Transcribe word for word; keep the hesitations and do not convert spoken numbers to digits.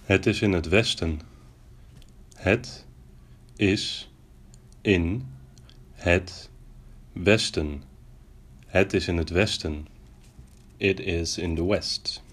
Het is in het westen. Het is in het westen. Het is in het westen. It is in the west.